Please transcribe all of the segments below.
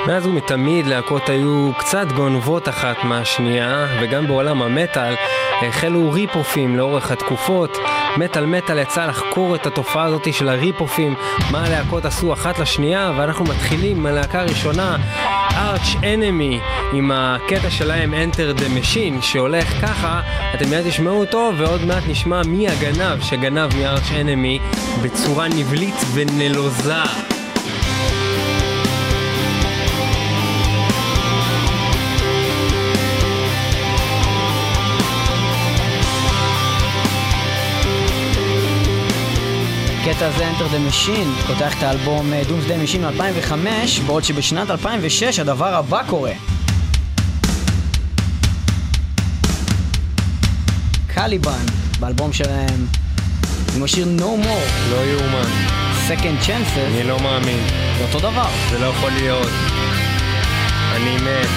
מאז ומתמיד להקות היו קצת גונבות אחת מהשנייה, וגם בעולם המטל החלו ריפופים לאורך התקופות. מטל יצא לחקור את התופעה הזאת של הריפופים, מה הלהקות עשו אחת לשנייה, ואנחנו מתחילים מהלהקה הראשונה, Arch Enemy, עם הקטע שלהם Enter the Machine, שהולך ככה, אתם מיד תשמעו אותו, ועוד מעט נשמע מי הגנב שגנב מ-Arch Enemy בצורה נבלית ונלוזה. הקטע הזה Enter the Machine פותח את האלבום Doomsday Machine מ-2005, בעוד שבשנת 2006 הדבר הבא קורה. קליבן באלבום שלהם עם השיר No More, לא יאומן, Second Chances. אני לא מאמין, זה אותו דבר, זה לא יכול להיות, אני מת.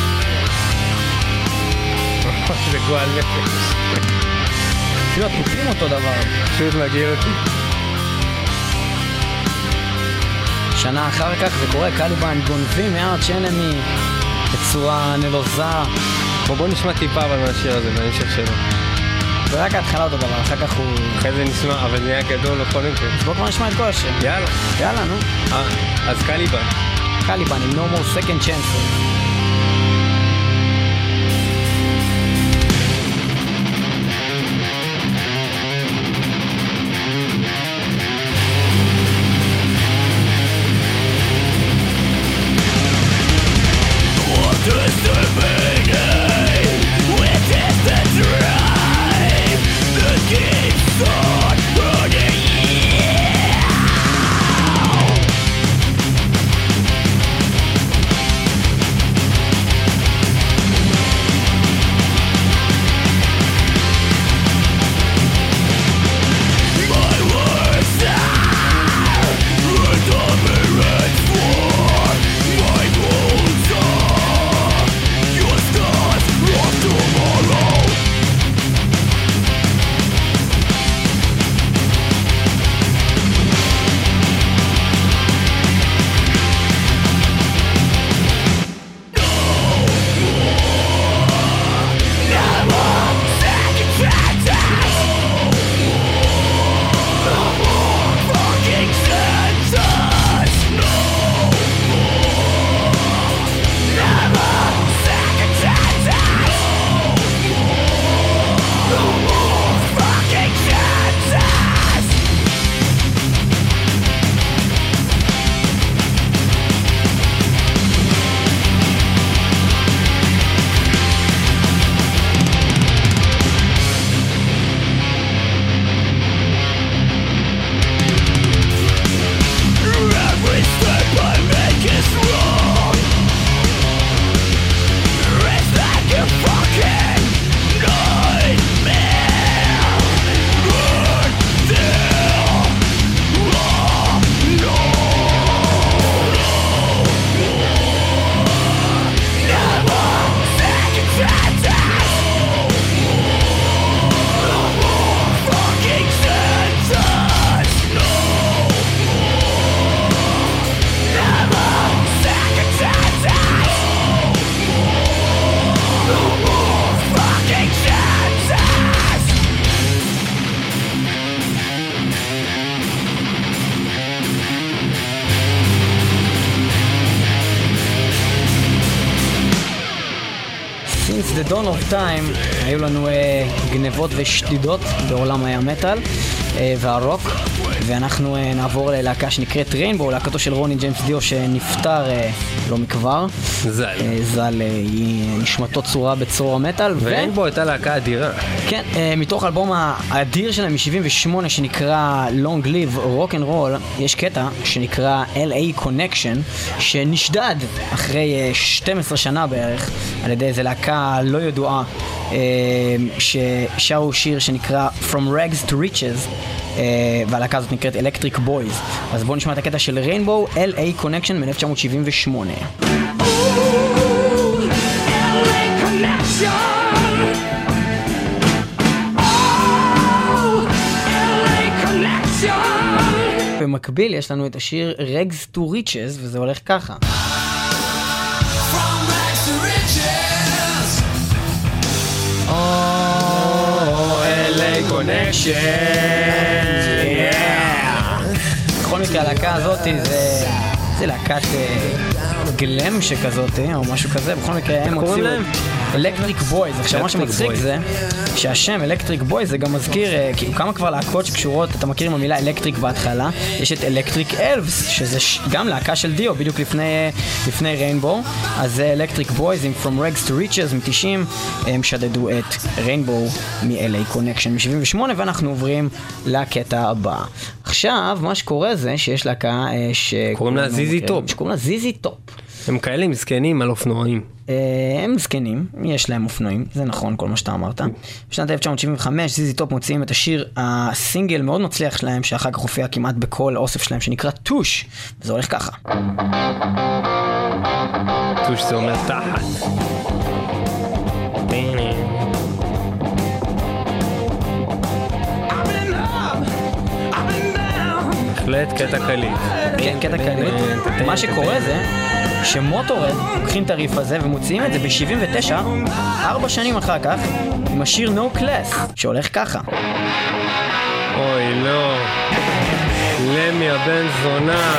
זה גועל נפש, אפילו התופים אותו דבר. פשוט מגיע אותי. שנה אחר כך זה קורה, קליבן גונבים מ-Arch Enemy בצורה נלוזה. בוא נשמע טיפה אבל מהשיר הזה, בהמשך שלו. ורק ההתחלה אותו דבר, אחר כך הוא... אחרי זה נשמע, אבל זה היה גדול לכל מקרה. אז בוא כבר נשמע את כל השיר. יאללה, נו. אז קליבן עם No More Second Chances. The Dawn of Time היו לנו גנבות ושדידות בעולם המטל והרוק, ואנחנו נעבור ללהקה שנקראת ריינבו, להקתו של רוני ג'יימס דיו שנפטר לא מכבר. ז"ל נשמתו צורה בצרור המטל. וריינבו הייתה להקה אדירה. כן, מתוך האלבום האדיר שלהם מ-78 שנקרא Long Live Rock and Roll, יש קטע שנקרא LA Connection שנשדד אחרי 12 שנה בערך על ידי איזה להקה לא ידועה ששרו שיר שנקרא From Rags to Riches, והלהקה הזאת נקראת Electric Boys. אז בואו נשמע את הקטע של ריינבו, LA Connection מ-1978. במקביל יש לנו את השיר Rags to Riches, וזה הולך ככה. קונקשן. בכל מקרה, הלהקה הזאת זה להקת גלם שכזאת, או משהו כזה. בכל מקרה, הם הוציאו אלקטריק בויז. עכשיו, מה שמצחיק זה שהשם אלקטריק בויז זה גם מזכיר, כאילו כמה כבר להקות שקשורות, אתה מכיר עם המילה אלקטריק בהתחלה, יש את אלקטריק אלבס, שזה גם להקה של דיו, בדיוק לפני ריינבו. אז זה אלקטריק בויז עם From Rags to Riches מ-90, הם שדדו את ריינבו מ-LA Connection מ-78, ואנחנו עוברים לקטע הבא. עכשיו, מה שקורה זה שיש להקה שקוראים לה זיזי טופ. שקוראים לה זיזי טופ. הם כאלה מסכנים על אופנועים. הם זקנים, יש להם אופנועים, זה נכון כל מה שאתה אמרת. בשנת 1975 זיזי טופ מוציאים את השיר, הסינגל מאוד מצליח שלהם, שאחר כך הופיע כמעט בכל אוסף שלהם, שנקרא טוש, וזה הולך ככה. טוש זה אומר תחת. בהחלט קטע קליט. כן, קטע קליט. מה שקורה זה שמוטורד לוקחים את הריף הזה ומוציאים את זה ב-79, 4 שנים אחר כך, עם השיר No Class, שהולך ככה. אוי לא, למי הבן זונה.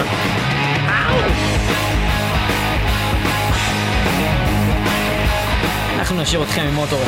אנחנו נשאיר אתכם עם מוטורד.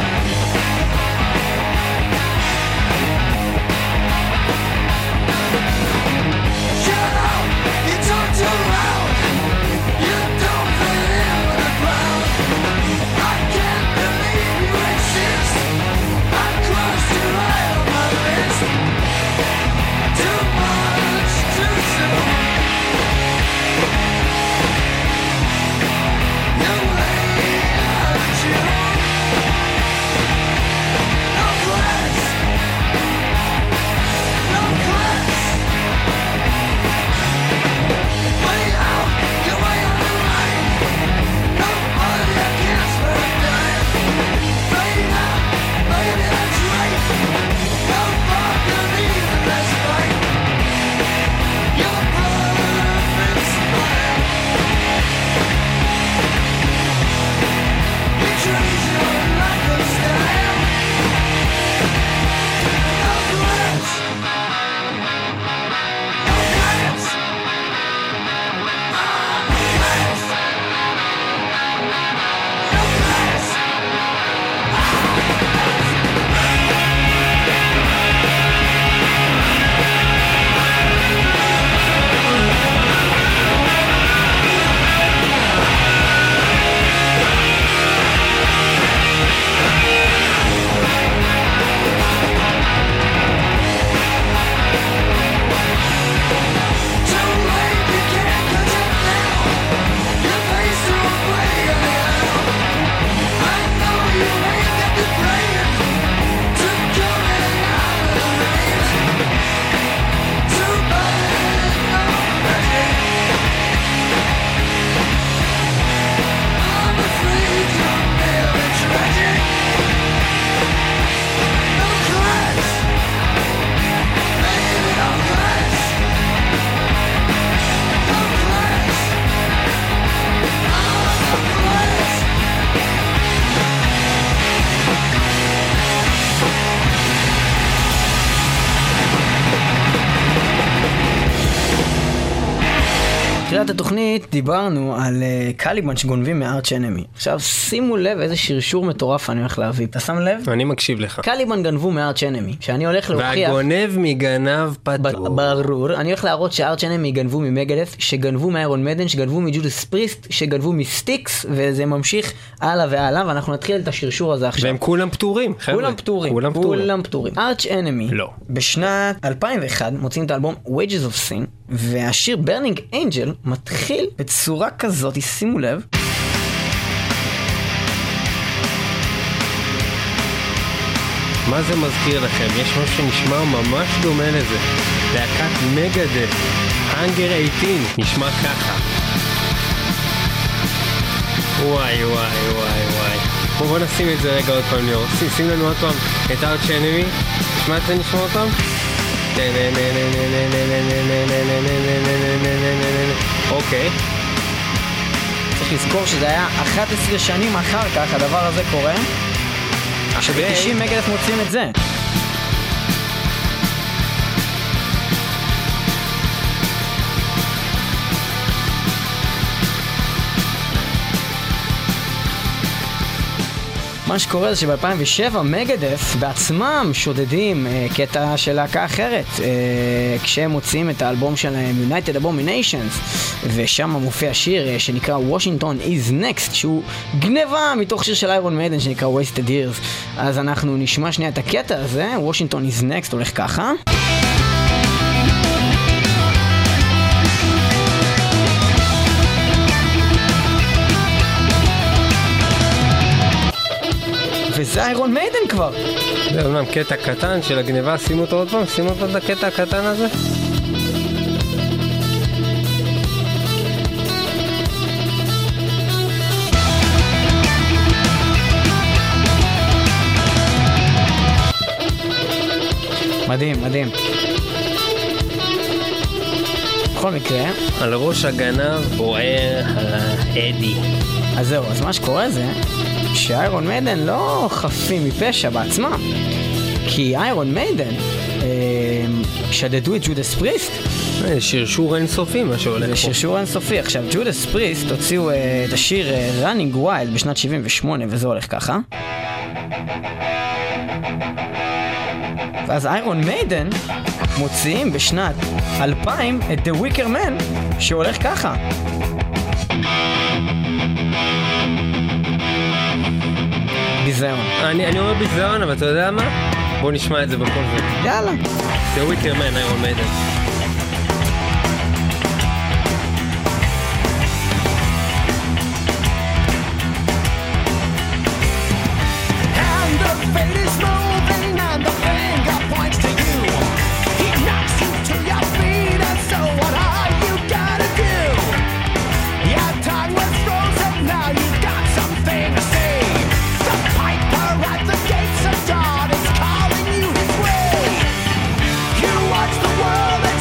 בתחילת התוכנית דיברנו על קליבן שגונבים מארץ' אנמי. עכשיו שימו לב איזה שרשור מטורף אני הולך להביא. אתה שם לב? אני מקשיב לך. קליבן גנבו מארץ' אנמי. שאני הולך להוכיח... והגונב מגנב פטור. ברור. אני הולך להראות שארץ' אנמי גנבו ממגדף, שגנבו מאיירון מדן, שגנבו מג'ודס פריסט, שגנבו מסטיקס, וזה ממשיך הלאה והלאה, ואנחנו נתחיל את השרשור הזה עכשיו. והם כולם פטורים, חבר'ה. כולם פטורים. ארץ' אנמי. לא. בשנת 2001 מוצאים את האלבום Wages of Sin, והשיר Burning Angel מתחיל בצורה כזאת, שימו לב. מה זה מזכיר לכם? יש משהו שנשמע ממש דומה לזה. להקת מגדף, Hunger 18, נשמע ככה. וואי וואי וואי וואי. בוא נשים את זה רגע עוד פעם ליאור. שים לנו עוד פעם את ארץ' אנמי. נשמע את זה, נשמע עוד פעם. אוקיי. צריך לזכור שזה היה 11 שנים אחר כך הדבר הזה קורה, שב-90 מגדף מוצאים את זה. מה שקורה זה שב-2007 מגדף בעצמם שודדים קטע של להקה אחרת כשהם מוצאים את האלבום שלהם United Abominations, ושם מופיע שיר שנקרא Washington is Next, שהוא גניבה מתוך שיר של איירון מיידן שנקרא Wasted Years. אז אנחנו נשמע שנייה את הקטע הזה. Washington is Next הולך ככה. וזה איירון מיידן כבר. זה אומנם קטע קטן של הגניבה, שימו אותו עוד פעם, שימו אותו את הקטע הקטן הזה. מדהים, מדהים. בכל מקרה, על ראש הגנב בוער האדי. אז זהו, אז מה שקורה זה שאיירון מיידן לא חפים מפשע בעצמם, כי איירון מיידן שדדו את ג'ודס פריסט. שרשור אינסופי מה שהולך פה. שרשור אינסופי. עכשיו, ג'ודס פריסט הוציאו את השיר Running Wild בשנת 78, וזה הולך ככה. ואז איירון מיידן מוציאים בשנת 2000 את The Wicker Man שהולך ככה. ביזיון. אני אומר ביזיון, אבל אתה יודע מה? בוא נשמע את זה בכל זאת. יאללה. The Wicker Man, איירון מיידן. World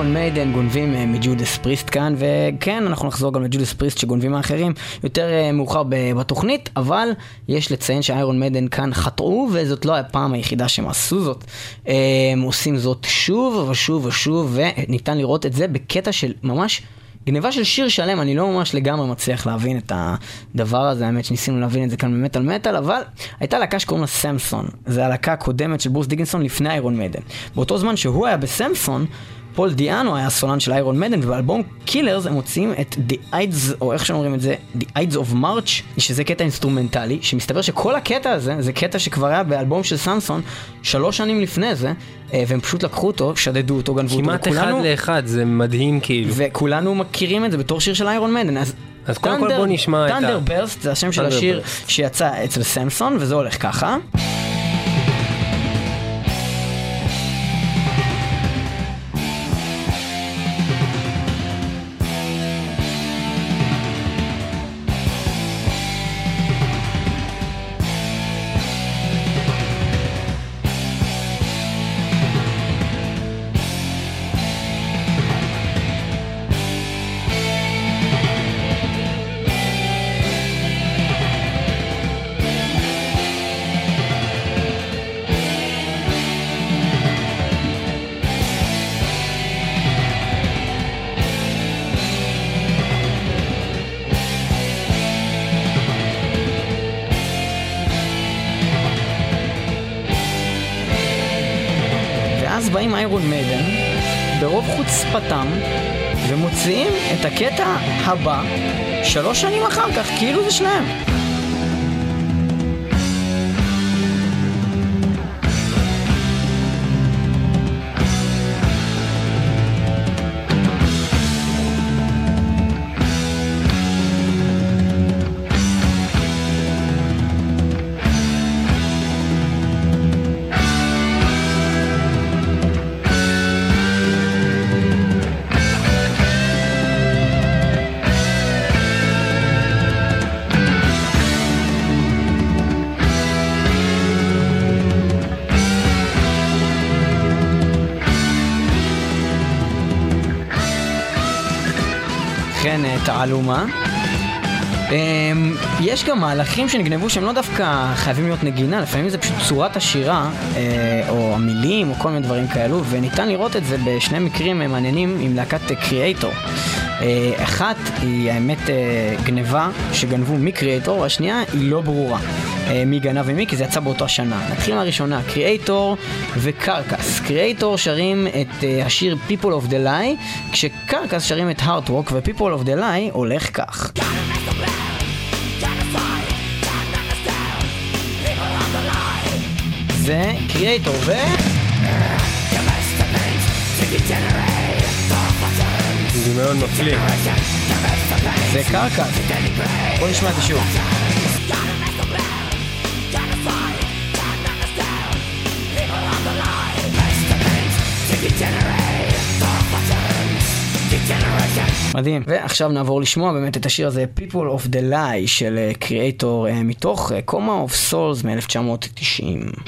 איירון מיידן גונבים מג'ודס פריסט כאן, וכן, אנחנו נחזור גם לג'ודס פריסט שגונבים האחרים יותר מאוחר בתוכנית, אבל יש לציין שאיירון מיידן כאן חטאו, וזאת לא הפעם היחידה שהם עשו זאת. הם עושים זאת שוב ושוב ושוב, וניתן לראות את זה בקטע של ממש גניבה של שיר שלם. אני לא ממש לגמרי מצליח להבין את הדבר הזה, האמת שניסינו להבין את זה כאן במטל מטל, אבל הייתה להקה שקוראים לה סמסון, זה הלהקה הקודמת של ברוס דיקינסון לפני איירון מיידן. באותו זמן שהוא היה בסמסון, פול דיאנו היה הסולן של איירון מיידן, ובאלבום קילרס הם מוצאים את The Ides, או איך שאומרים את זה, The Ides of March, שזה קטע אינסטרומנטלי, שמסתבר שכל הקטע הזה, זה קטע שכבר היה באלבום של סמסון 3 שנים לפני זה, והם פשוט לקחו אותו, שדדו אותו, גנבו אותו. כמעט אחד לאחד, זה מדהים כאילו. וכולנו מכירים את זה בתור שיר של איירון מיידן, אז קודם כל בוא נשמע את Thunderburst, זה השם של השיר שיצא אצל סמסון, וזה הולך ככה. אז באים איירון מיידן ברוב חוצפתם ומוציאים את הקטע הבא 3 שנים אחר כך, כאילו זה שלהם. תעלומה. יש גם מהלכים שנגנבו שהם לא דווקא חייבים להיות נגינה, לפעמים זה פשוט צורת השירה או המילים או כל מיני דברים כאלו, וניתן לראות את זה בשני מקרים מעניינים עם להקת קריאייטור. אחת היא האמת גניבה שגנבו מקריאייטור, והשנייה היא לא ברורה מי גנב ומי, כי זה יצא באותה שנה. נתחיל מהראשונה, קריאייטור וקרקס. קריאייטור שרים את השיר People of the Lie, כשקרקס שרים את Heart Rock, ו-People of the Lie הולך כך. זה קריאייטור ו... זה מאוד מפליא. זה קרקס. בוא נשמע את זה שוב. מדהים. ועכשיו נעבור לשמוע באמת את השיר הזה People of the Lie של קריאייטור מתוך Coma of Souls מ-1990.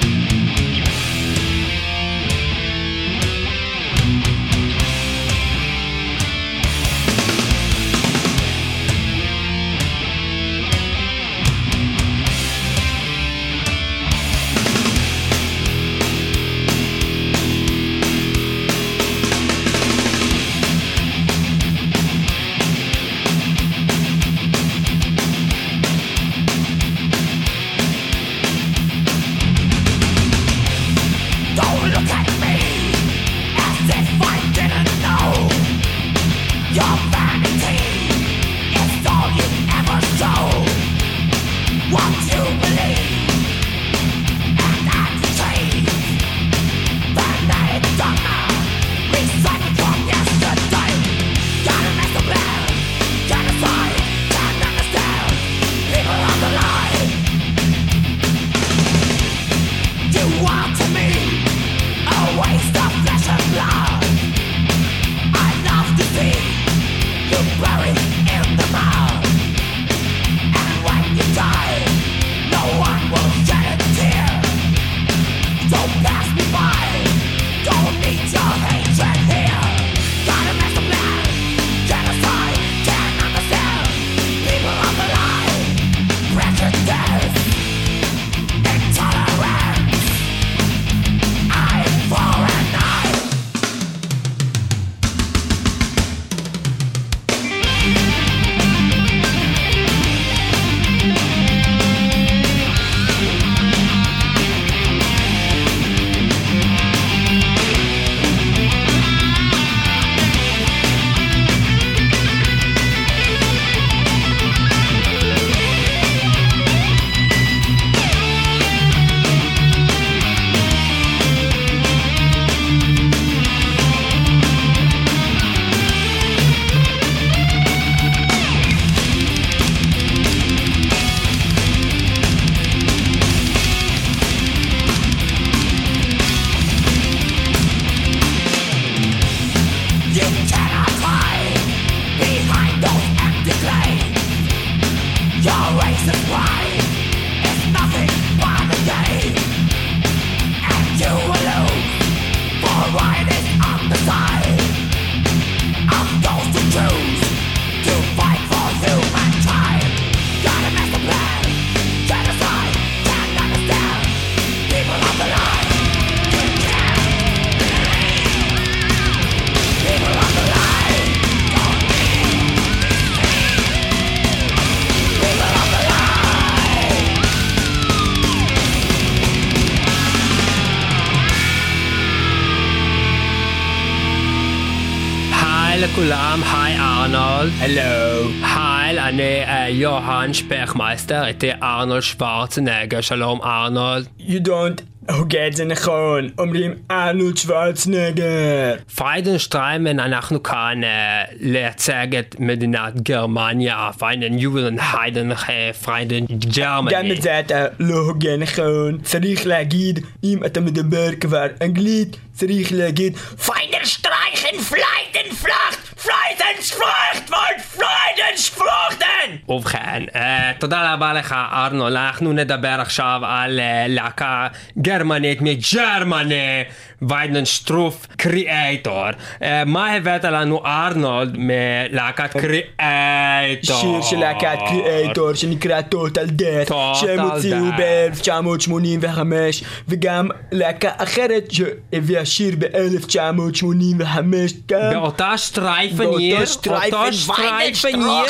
לכולם, היי ארנולד. הלו. היי, אני יוהאן שפכמייסטר, איתי ארנולד שוורצנגר. שלום ארנולד. You don't הוגה את זה נכון, אומרים ארנולד שוורצנגר. פריידנשטריימן, אנחנו כאן לייצג את מדינת גרמניה, פריידן יולן היידן פריידן גרמני. גם את זה אתה לא הוגה נכון, צריך להגיד, אם אתה מדבר כבר אנגלית, צריך להגיד פריידנשטרייכן פליידנפלאכט פריידנשפלאכט פריידנשפלאכטן. ובכן, תודה רבה לך ארנולד, אנחנו נדבר עכשיו על להקה גרמנית מג'רמני, ויידנשטרוף קריאייטור. מה הבאת לנו ארנולד מלהקת קריאייטור? שיר של להקת קריאייטור שנקרא טוטל דאט, שהם הוציאו ב-1985, וגם להקה אחרת שהביאה שיר ב-1985 באותה שטרייפניר, אותו שטרייפניר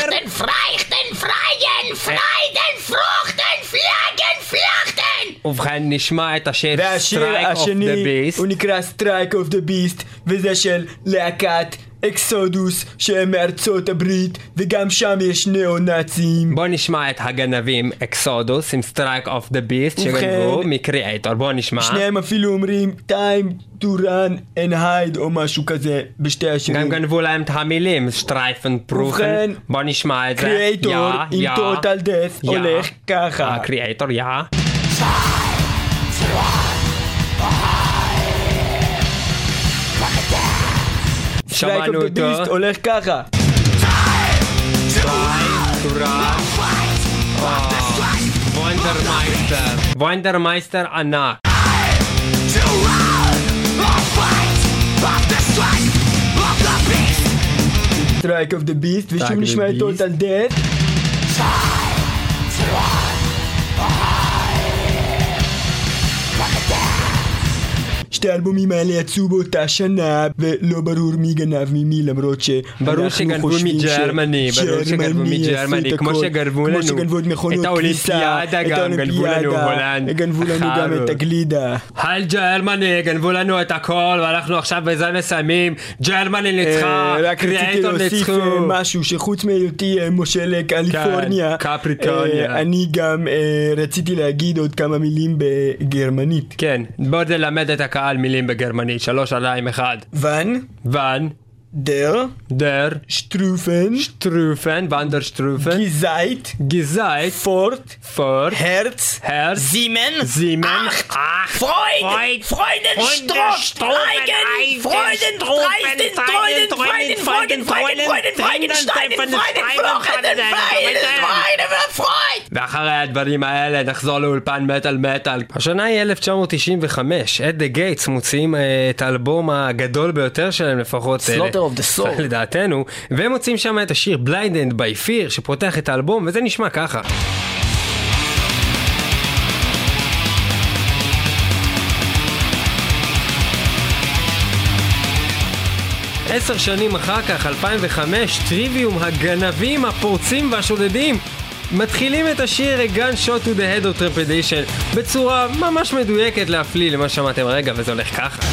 ובכן נשמע את השיר והשיר Strike of the השני Beast. הוא נקרא Strike of the Beast, וזה של להקת אקסודוס שהם מארצות הברית, וגם שם יש ניאו-נאצים. בוא נשמע את הגנבים אקסודוס עם Strike of the Beast שגנבו מקריאייטור. בוא נשמע. שניהם אפילו אומרים time to run and hide או משהו כזה בשתי השירים. גם גנבו להם את המילים שטרייפן פרופן. בוא נשמע את זה. קריאייטור עם טוטל דאט הולך ככה. קריאייטור שמענו אותו. Strike of the Beast הולך ככה. וונדרמייסטר ענק. Strike of the Beast, ושוב נשמע את טוטל דאט. שתי האלבומים האלה יצאו באותה שנה, ולא ברור מי גנב ממי, למרות ברור שגנבו מג'רמני, כמו שגנבו לנו את האולימפיאדה, גם גנבו לנו הולנד, גנבו לנו גם את הגלידה. על ג'רמני, גנבו לנו את הכל, ואנחנו עכשיו בזה מסיימים. ג'רמני ניצחה, קריאייטור ניצחו. משהו שחוץ מהיותי מושל קליפורניה, אני גם רציתי להגיד עוד כמה מילים בגרמנית. כן, בוא נלמד את הקהל מילים בגרמנית. 3, 2, 1. ואן der Strufen Wanderstrufen Gezeit Fort Herz Siemen Acht ואחרי הדברים האלה נחזור לאולפן מטל. השנה היא 1995. את דה גייטס מוציאים את האלבום הגדול ביותר שלהם, לפחות of the Soul. לדעתנו, והם מוצאים שם את השיר Blinded by Fear שפותח את האלבום, וזה נשמע ככה. עשר שנים אחר כך, 2005, טריוויום, הגנבים, הפורצים והשודדים מתחילים את השיר A Gun Shot to the Head of Trepidation בצורה ממש מדויקת להפליא למה שמעתם רגע, וזה הולך ככה.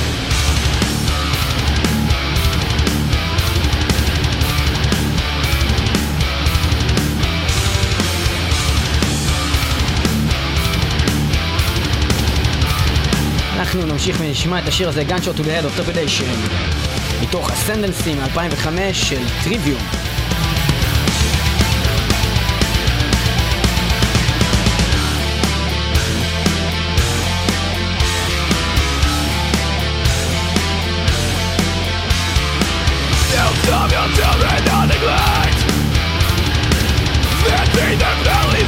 'אנחנו נמשיך ונשמע את השיר הזה, Gun Shot to the Head of Trepidation, מתוך Ascendancy מ-2005 של טריוויום. Children on neglect, that be the valley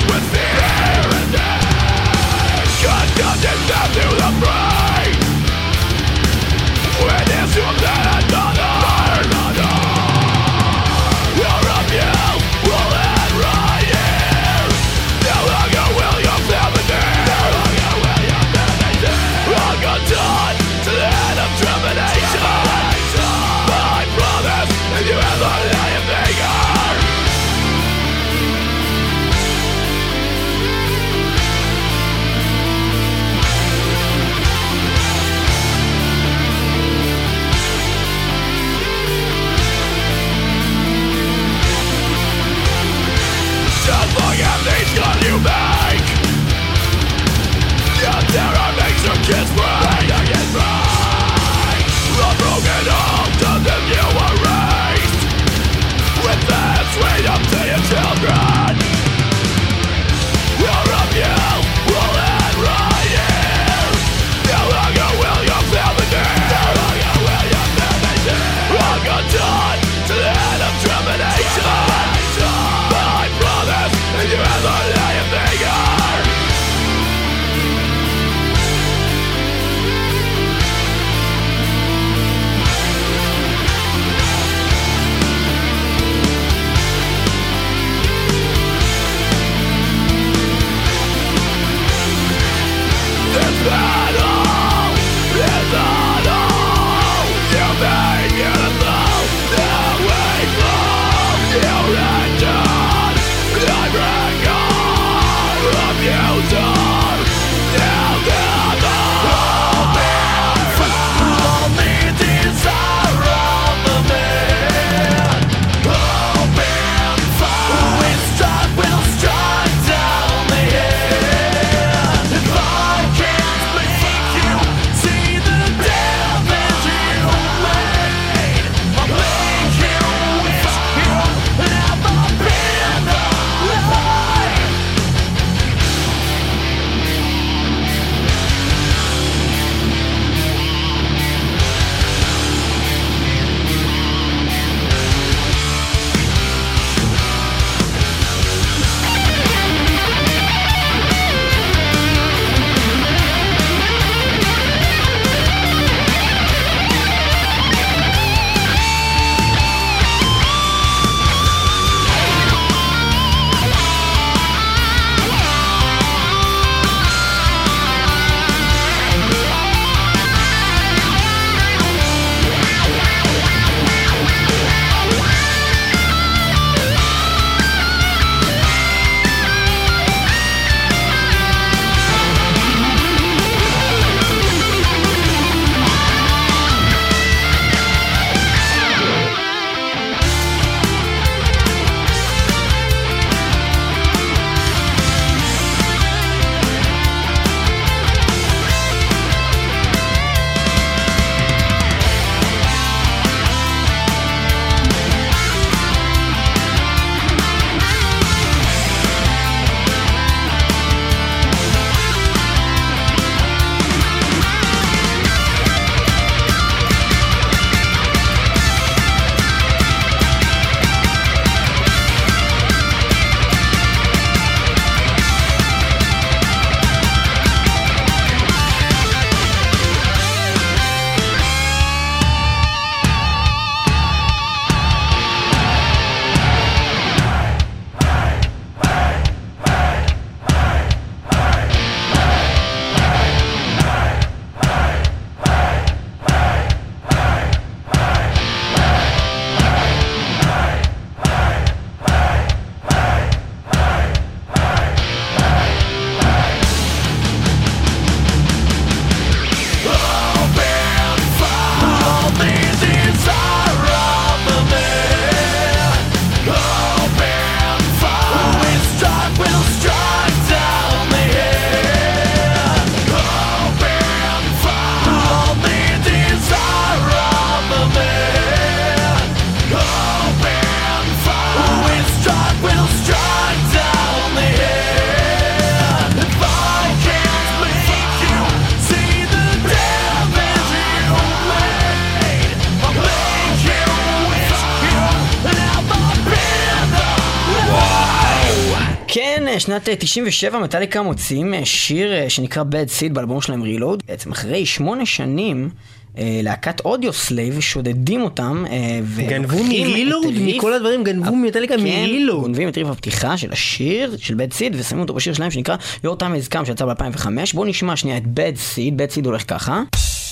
שנת 97 מטאליקה מוציאים שיר שנקרא Bad Seed באלבום שלהם Reload. בעצם אחרי 8 שנים להקת אודיו סלייב שודדים אותם גנבו מרילוד, מכל הדברים גנבו מטאליקה מרילוד. גונבים את ריף הפתיחה של השיר של Bad Seed ושמים אותו בשיר שלהם שנקרא Your Time Has Come שיצא ב-2005. בואו נשמע שנייה את Bad Seed. Bad Seed הולך ככה.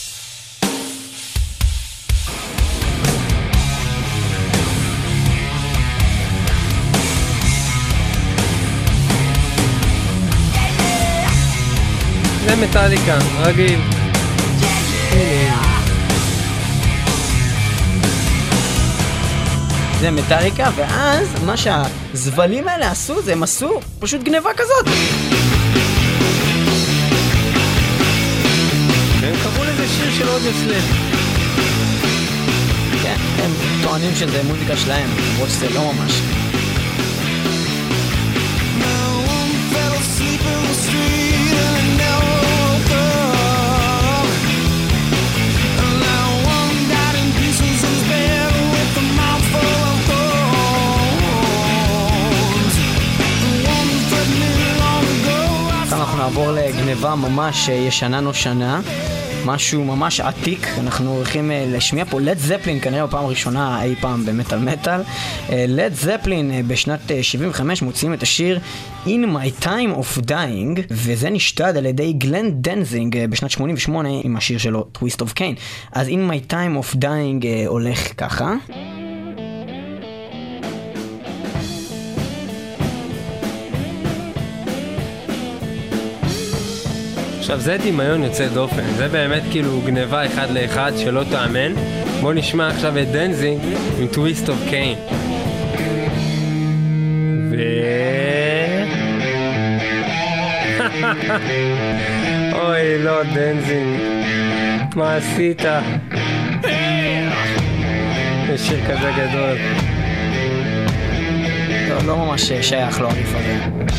זה מטאליקה, רגיל. זה מטאליקה, ואז מה שהזבלים האלה עשו, זה הם עשו פשוט גניבה כזאת. והם קראו לזה שיר של אודיו סלייב. כן, הם טוענים שזה מוזיקה שלהם, למרות שזה לא ממש. אנחנו נעבור לגניבה ממש ישנה נושנה, משהו ממש עתיק. אנחנו הולכים לשמיע פה לד זפלין, כנראה בפעם הראשונה אי פעם במטל מטל. לד זפלין בשנת 75 מוציאים את השיר In My Time of Dying, וזה נשתד על ידי גלן דנזינג בשנת 88 עם השיר שלו Twist of Cain. אז In My Time of Dying הולך ככה. עכשיו זה דמיון יוצא דופן, זה באמת כאילו גניבה אחד לאחד שלא תאמן. בוא נשמע עכשיו את דנזינג עם Twist of Cain. אוי לא דנזינג, מה עשית? זה שיר כזה גדול. לא ממש שייך לו הריף הזה.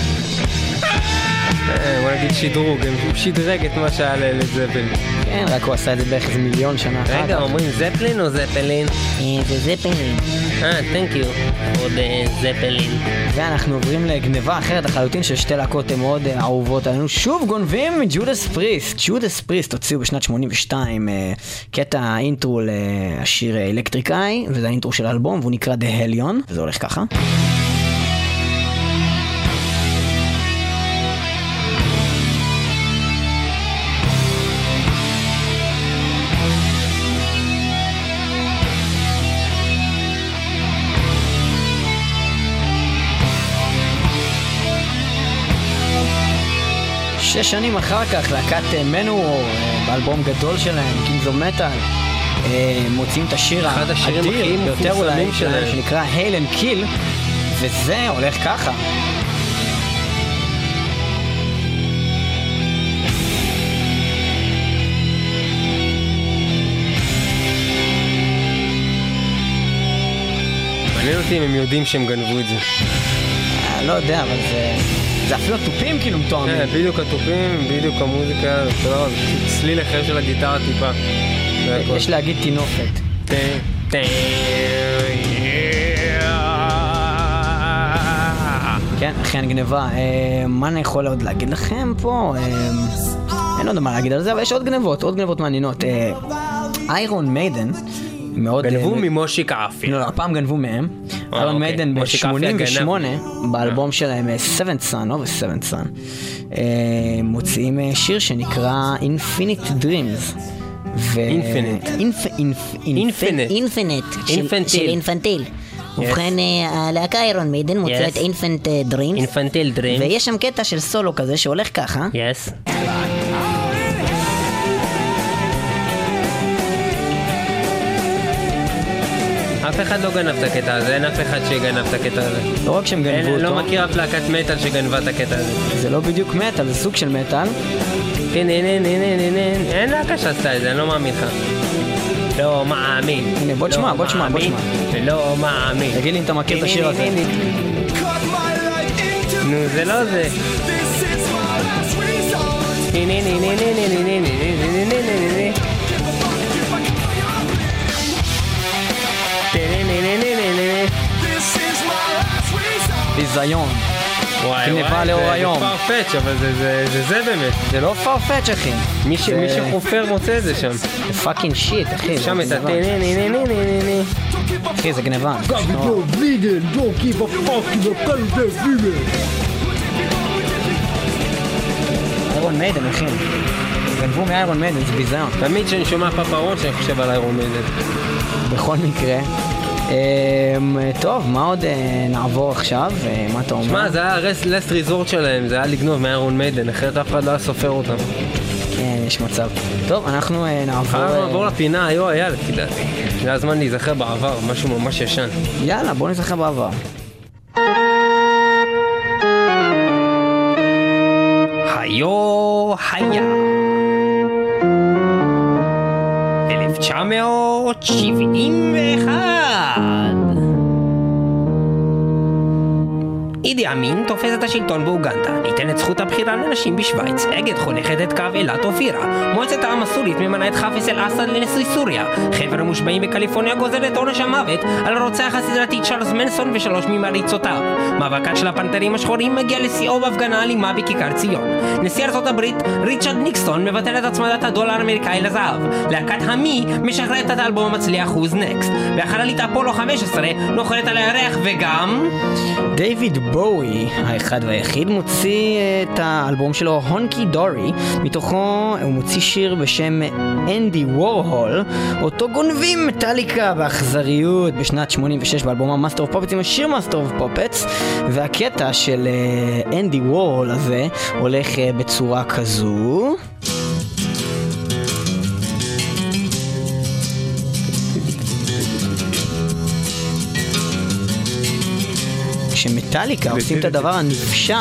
בוא נגיד שדרוג, הוא שדרג את מה שהיה ללד זפלין. כן, רק הוא עשה את זה בערך איזה מיליון שנה אחת. רגע, אומרים זפלין או זפלין? זה זפלין. thank you for the זפלין. ואנחנו עוברים לגניבה אחרת לחלוטין של שתי להקות מאוד אהובות עלינו. שוב גונבים ג'ודס פריסט. ג'ודס פריסט הוציאו בשנת 82 קטע אינטרו לשיר אלקטריק איי, וזה האינטרו של האלבום, והוא נקרא The Hellion, וזה הולך ככה. 6 שנים אחר כך להקת מנוור באלבום גדול שלהם, Kings of Metal, מוצאים את השיר האדיר ביותר אולי שלהם שנקרא Hail and Kill, וזה הולך ככה. מעניין אותי אם הם יודעים שהם גנבו את זה. לא יודע, אבל זה אפילו הטופים כאילו מתואמים. בדיוק הטופים, בדיוק המוזיקה, צליל אחר של הגיטרה טיפה. יש להגיד תינופת. כן, אכן גניבה. מה אני יכול עוד להגיד לכם פה? אין עוד מה להגיד על זה, אבל יש עוד גניבות מעניינות. איירון מיידן גנבו ממושיק אפי. לא, הפעם גנבו מהם. איירון מיידן ב-88 באלבום שלהם Seventh Son, Seventh Son, מוציאים שיר שנקרא Infinite Dreams. Infinite של אינפנטיל. ובכן הלהקה איירון מיידן מוציאה את Infinite Dreams, ויש שם קטע של סולו כזה שהולך ככה. אף אחד לא גנב את הקטע הזה, אין אף אחד שגנב את הקטע הזה. לא רק שהם גנבו אותו. לא מכיר אף להקת מטל שגנבה את הקטע הזה. זה לא בדיוק מטל, זה סוג של מטל. אין להקה שעשתה את זה, אני לא מאמין לך. לא מאמין. הנה, בוא תשמע. לא מאמין. תגיד לי אם אתה מכיר את השיר הזה. נו, זה לא זה. ביזיון. גניבה לאור היום. זה פרפץ', אבל זה באמת. זה לא פרפץ', אחי. מי שחופר מוצא את זה שם. זה פאקינג שיט, אחי. שם את הטי. אחי, זה גניבה. איירון מיידן, אחי. גנבו מאיירון מיידן, זה ביזיון. תמיד שאני שומע פפרון שאני חושב על איירון מיידן. בכל מקרה. טוב, מה עוד נעבור עכשיו? מה אתה אומר? שמע, זה היה לסט ריזורט שלהם, זה היה לגנוב מאיירון מיידן, אחרת אף אחד לא היה סופר אותם. כן, יש מצב. טוב, אנחנו נעבור לפינה, יאללה, כדעתי. זה הזמן להיזכר בעבר, משהו ממש ישן. יאללה, בוא נזכר בעבר. היה 1971 אידי אמין תופס את השלטון באוגנדה, ניתן את זכות הבחירה לנשים בשוויץ, אגד חונכת את קו אילת אופירה, מועצת העם הסורית ממנה את חאפז אל-אסד לנשיא סוריה, חבר המושבעים בקליפורניה גוזר את עונש המוות על הרוצח הסדרתי צ'ארלס מנסון ושלוש ממריצותיו. מאבקת של הפנתרים השחורים מגיע לשיאו בהפגנה אלימה בכיכר ציון. נשיא ארצות הברית ריצ'רד ניקסון מבטל את הצמדת הדולר האמריקאי לזהב. להקת המי משחררת את האלבום המצליח Who's Next, והחללית אפולו 15 נוחתת על הירח, וגם דיוויד בואי, האחד והיחיד, מוציא את האלבום שלו הונקי דורי, מתוכו הוא מוציא שיר בשם אנדי וורהול, אותו גונבים מטליקה באכזריות בשנת 86 באלבום מאסטר אוף פופטס עם השיר מאסטר אוף פופטס, והקטע של אנדי וורהול הזה הולך בצורה כזו. שמטליקה עושים את הדבר הנפשע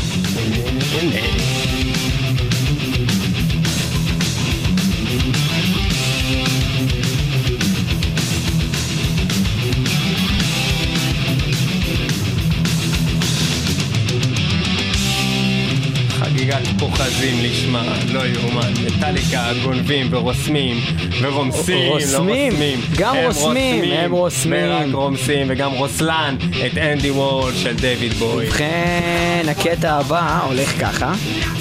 חגיגת פוחזים לשמה, לא יאומן. מטליקה גונבים ורוסמים ורומסים, גם רוסמים, הם רוסמים ורק רומסים, וגם רוסלן את אנדי וורהול של דיוויד בואי. ובכן, הקטע הבא הולך ככה.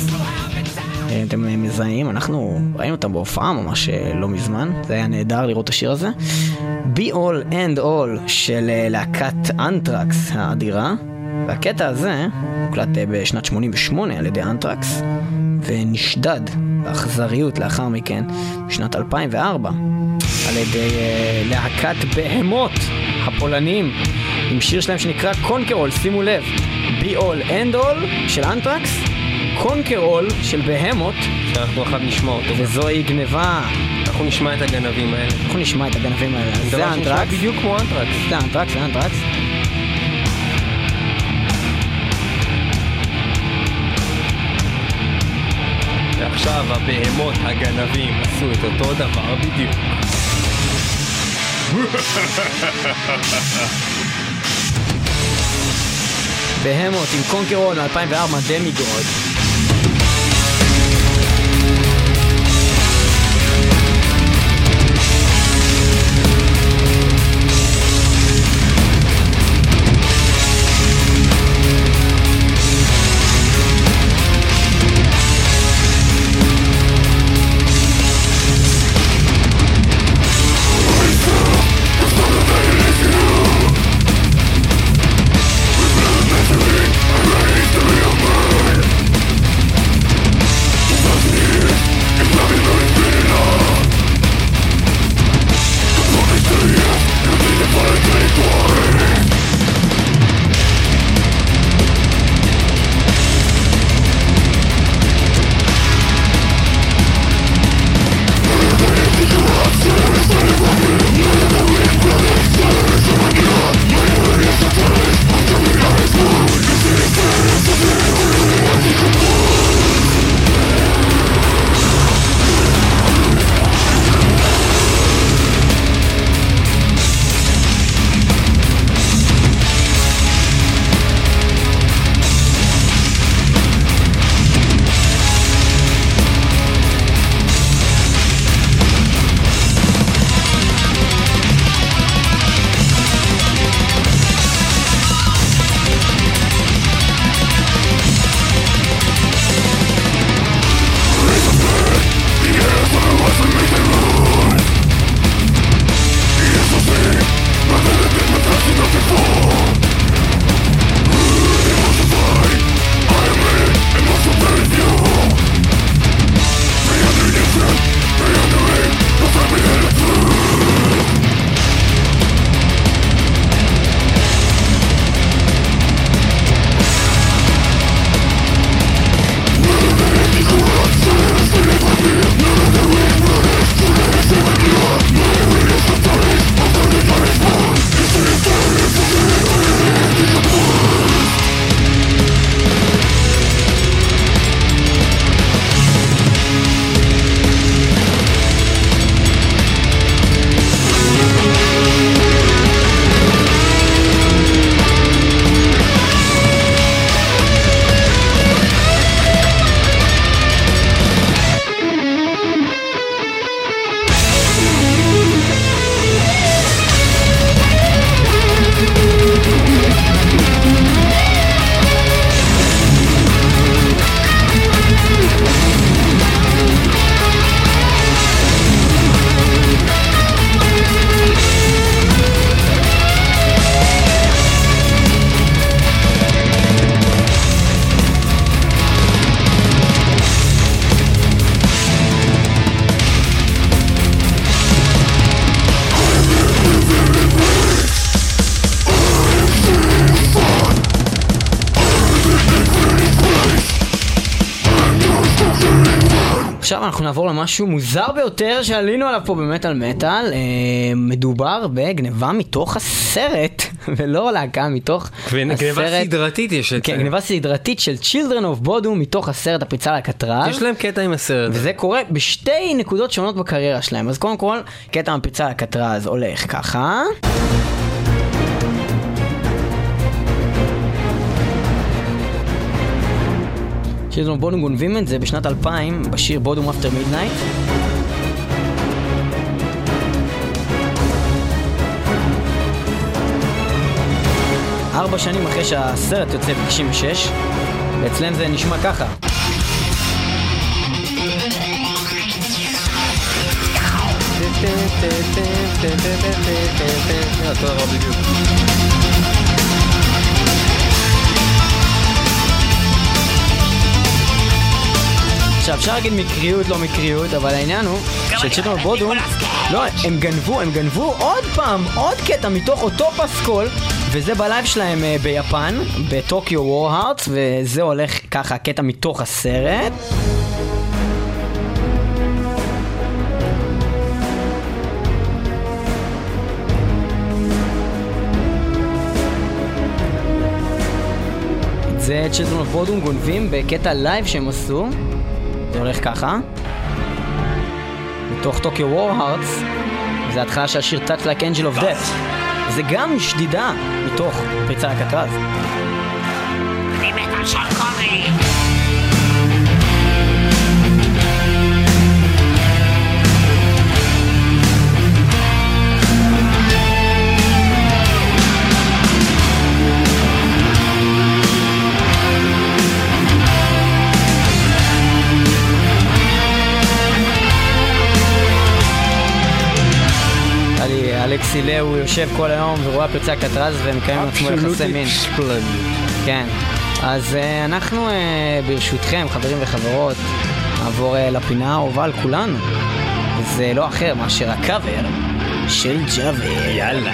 אתם מזהים, אנחנו ראינו אותם בהופעה ממש לא מזמן, זה היה נהדר לראות את השיר הזה. Be All and All של להקת אנטרקס האדירה, והקטע הזה הוקלט בשנת 88 על ידי אנטרקס ונשדד באכזריות לאחר מכן בשנת 2004 על ידי להקת בהמות הפולנים עם שיר שלהם שנקרא קונקרול. שימו לב, Be All and All של אנטרקס, קונקרול של בהמות, שאנחנו אחד נשמע אותו, וזוהי גניבה. אנחנו נשמע את הגנבים האלה. זה אנטרקס, בדיוק כמו אנטרקס. זה אנטרקס. ועכשיו הבהמות הגנבים עשו את אותו דבר בדיוק. בהמות עם קונקרול 2004 דמיגוד. עכשיו אנחנו נעבור למשהו מוזר ביותר שעלינו עליו פה במטל מטל. מדובר בגניבה מתוך הסרט, ולא להקה מתוך הסרט. גניבה סדרתית יש את זה. כן, גניבה סדרתית של Children of Bodom מתוך הסרט הפריצה לקטרז. יש להם קטע עם הסרט. וזה קורה בשתי נקודות שונות בקריירה שלהם. אז קודם כל, קטע מהפריצה לקטרז הולך ככה. Children of Bodom גונבים את זה בשנת 2000 בשיר Bodom After Midnight. ארבע שנים אחרי שהסרט יוצא ב-96, ואצלם זה נשמע ככה. אותו הרב בדיוק. עכשיו, אפשר להגיד מקריות, לא מקריות, אבל העניין הוא שצ'ילדרן אוף בודום, לא, הם גנבו עוד פעם, עוד קטע מתוך אותו פסקול, וזה בלייב שלהם ביפן, בטוקיו וור-הארטס, וזה הולך ככה, קטע מתוך הסרט. זה צ'ילדרן אוף בודום גונבים בקטע לייב שהם עשו. זה הולך ככה מתוך טוקיו וור-הארטס. זה התחלה של השיר Touch Like Angel of Death. זה גם שדידה מתוך פריצה לקטרז. אני מת על שון קורי. אלכסי לאו הוא יושב כל היום ורואה פריצה קטרז ומקיים עם עצמו יחסי מין. כן. אז אנחנו ברשותכם, חברים וחברות, נעבור לפינה האהובה על כולנו. זה לא אחר מאשר הקאבר של ג'אבר. יאללה.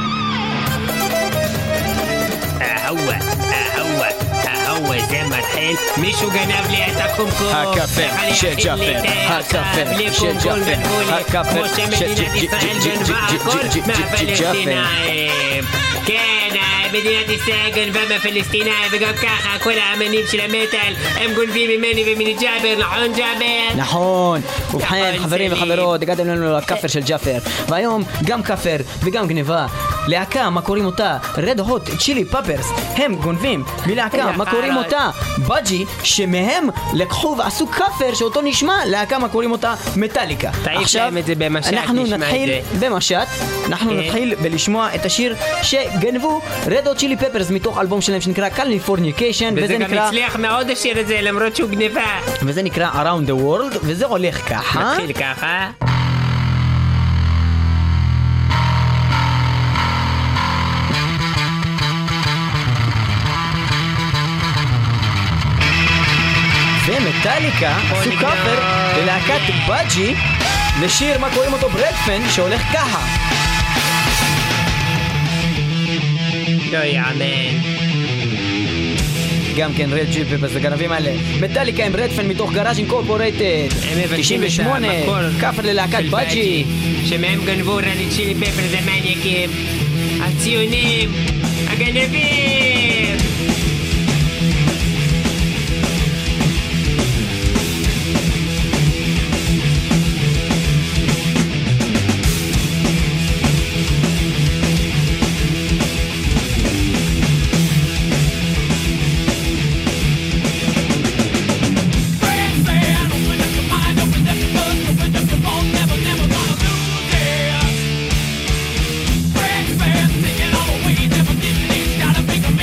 זה מתחיל, מישהו גנב לי את הקומקום. הקאבר של ג'אבר, הקאבר של ג'אבר, הקאבר של ג'אבר. כן, מדינת ישראל גנבה מהפלסטינאים, וגם ככה כל האמנים של המטל הם גונבים ממני ומני ג'אבר, נכון ג'אבר? נכון. ובכן חברים וחברות, הגעתם לנו לקאפר של ג'אבר, והיום גם קאפר וגם גניבה. להקה, מה קוראים אותה? Red Hot Chili Peppers, הם גונבים מלהקה, מה קוראים אותה? בג'י, שמהם לקחו ועשו קאפר שאותו נשמע להקה, מה קוראים אותה? מטאליקה. עכשיו אנחנו נתחיל במשט, אנחנו נתחיל בלשמוע את השיר שגנבו Red Hot Chili Peppers מתוך אלבום שלהם שנקרא Californication, וזה גם הצליח מאוד השיר הזה למרות שהוא גניבה, וזה נקרא Around the World, וזה הולך ככה. נתחיל ככה. ומטאליקה עשו קאפר ללהקת בג'י לשיר מה קוראים אותו ברדפן שהולך ככה. לא יאמן. גם כן רד ג'יפ ובגנבים האלה. מטאליקה עם רדפן מתוך גראז' אינקורפורייטד 98, קאפר ללהקת בג'י שמהם גנבו רד צ'ילי פפר, זה מניאקים, הציונים, הגנבים. Never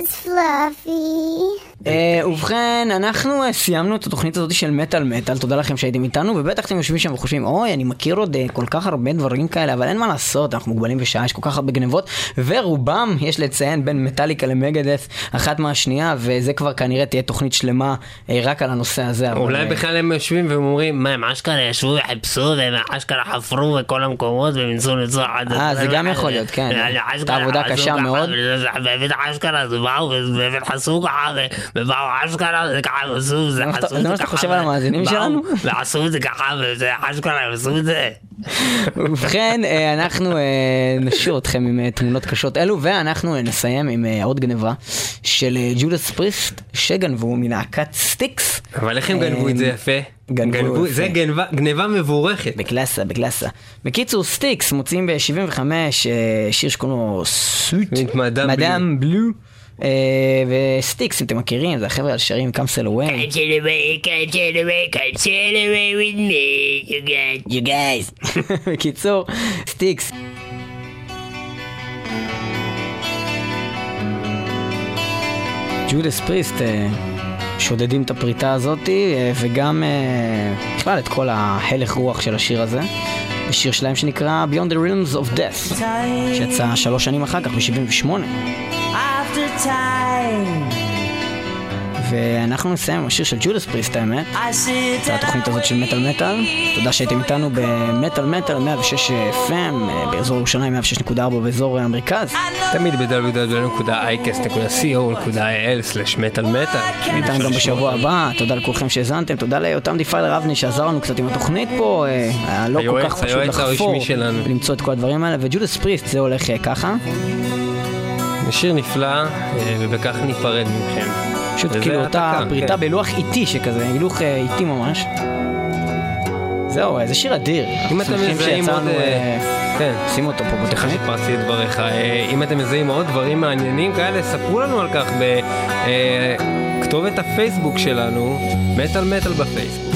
It's fluffy. ובכן, אנחנו סיימנו את התוכנית הזאת של מטל. תודה לכם שהייתם איתנו, ובטח אתם יושבים שם וחושבים, אוי, אני מכיר עוד כל כך הרבה דברים כאלה, אבל אין מה לעשות, אנחנו מוגבלים בשעה, יש כל כך הרבה גנבות, ורובם יש לציין בין מטאליקה למגדף אחת מהשנייה, וזה כבר כנראה תהיה תוכנית שלמה רק על הנושא הזה. אולי בכלל הם יושבים ואומרים, מה, הם אשכרה ישבו וחיפשו, והם אשכרה חפרו בכל המקומות, והם ניסו לצור עד... זה גם יכול להיות, כן. את העבודה קשה מאוד. באמת אשכרה, זה באו, ובאמת חסו ככה, ובאו אשכרה, זה ככה, ועשו, זה חסו, זה מה שאתה חושב על המאזינים שלנו? ועשו את זה ככה, וזה אשכרה, הם עשו את זה. ובכן, אנחנו נשאיר אתכם עם תמונות קשות אלו, ואנחנו נסיים עם עוד גניבה של ג'ודס פריסט, שגנבו מלהקת סטיקס. אבל איך הם גנבו את זה יפה? זה גניבה מבורכת. בקלאסה. בקיצור, סטיקס מוצאים ב-75 שיר שקוראים לו סוט, מדאם בלו. וסטיקס, אם אתם מכירים, זה החבר'ה על שרים Come Sail Away. Come sail away with me, you guys. בקיצור, סטיקס. ג'ודס פריסט שודדים את הפריטה הזאת, וגם בכלל את כל ההלך רוח של השיר הזה. השיר שלהם שנקרא Beyond the Realms of Death, שיצא 3 שנים אחר כך, ב-78. ואנחנו נסיים עם השיר של ג'ודס פריסט, האמת. זה התוכנית הזאת של מטל. תודה שהייתם איתנו במטל 106 FM באזור ירושלים, 106.4 באזור המרכז. תמיד www.icast.co.il/מטל. ניתן גם בשבוע הבא. תודה לכולכם שהזנתם, תודה לאותם דיפיילר אבני שעזר לנו קצת עם התוכנית פה. היה לא כל כך פשוט לחפור ולמצוא את כל הדברים האלה. וג'ודס פריסט זה הולך ככה. שיר נפלא, ובכך ניפרד מכם. פשוט כאילו אותה פריטה בלוח איטי שכזה, הילוך איטי ממש. זהו, זה שיר אדיר. אם אתם מזהים עוד... כן. שימו אותו פה בתוכנית. שפרצתי את דבריך. אם אתם מזהים עוד דברים מעניינים כאלה, ספרו לנו על כך בכתובת הפייסבוק שלנו, מטל בפייסבוק.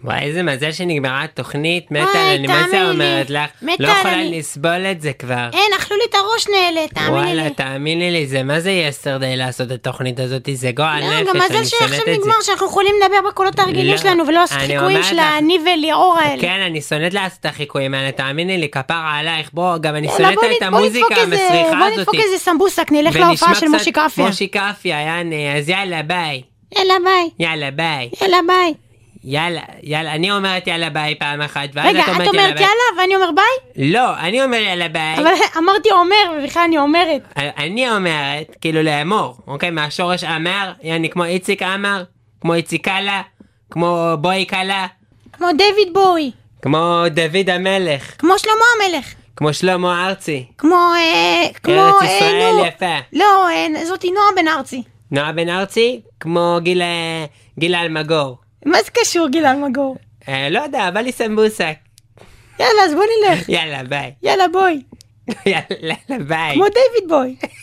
וואי, איזה מזל שנגמרה התוכנית, מטל, אני מה זה אומרת לך? לא יכולה לסבול את זה כבר. אין, אכלו לי את הראש נעלה, תאמיני לי. וואלה, תאמיני לי, זה מה זה יסטרדיי לעשות את התוכנית הזאת, זה גועל נפש, גם מזל שעכשיו נגמר שאנחנו יכולים לדבר בקולות הרגילים שלנו, ולא החיקויים של אני וליאור האלה. כן, אני שונאת לעשות את החיקויים האלה, תאמיני לי, כפרה עלייך, בוא, גם אני שונאת את המוזיקה המסריחה הזאת. בוא נדפוק איזה סמבוסק, נלך להופעה של מושי קפיה. מושי קפיה, יאנה, אז יאללה, ביי. יאללה, ביי. יאללה, ביי. יאללה, ביי. יאללה, אני אומרת יאללה ביי פעם אחת, רגע, את אומרת יאללה ואני אומר ביי? לא, אני אומר יאללה ביי. אבל אמרתי אומר, ובכלל אני אומרת. אני אומרת, כאילו לאמור, אוקיי? מהשורש אמר, יעני כמו איציק אמר, כמו איציקלה, כמו בוי קלה. כמו דיוויד בוי. כמו דוד המלך. כמו שלמה המלך. כמו שלמה ארצי. כמו ארץ ישראל יפה. לא, זאתי נועה בן ארצי. נועה בן ארצי? כמו גילה אלמגור. מה זה קשור גילה אלמגור? לא יודע, בא לי סמבוסק. יאללה, אז בוא נלך. יאללה, ביי. יאללה, בוי. יאללה, ביי. כמו דיוויד בוי.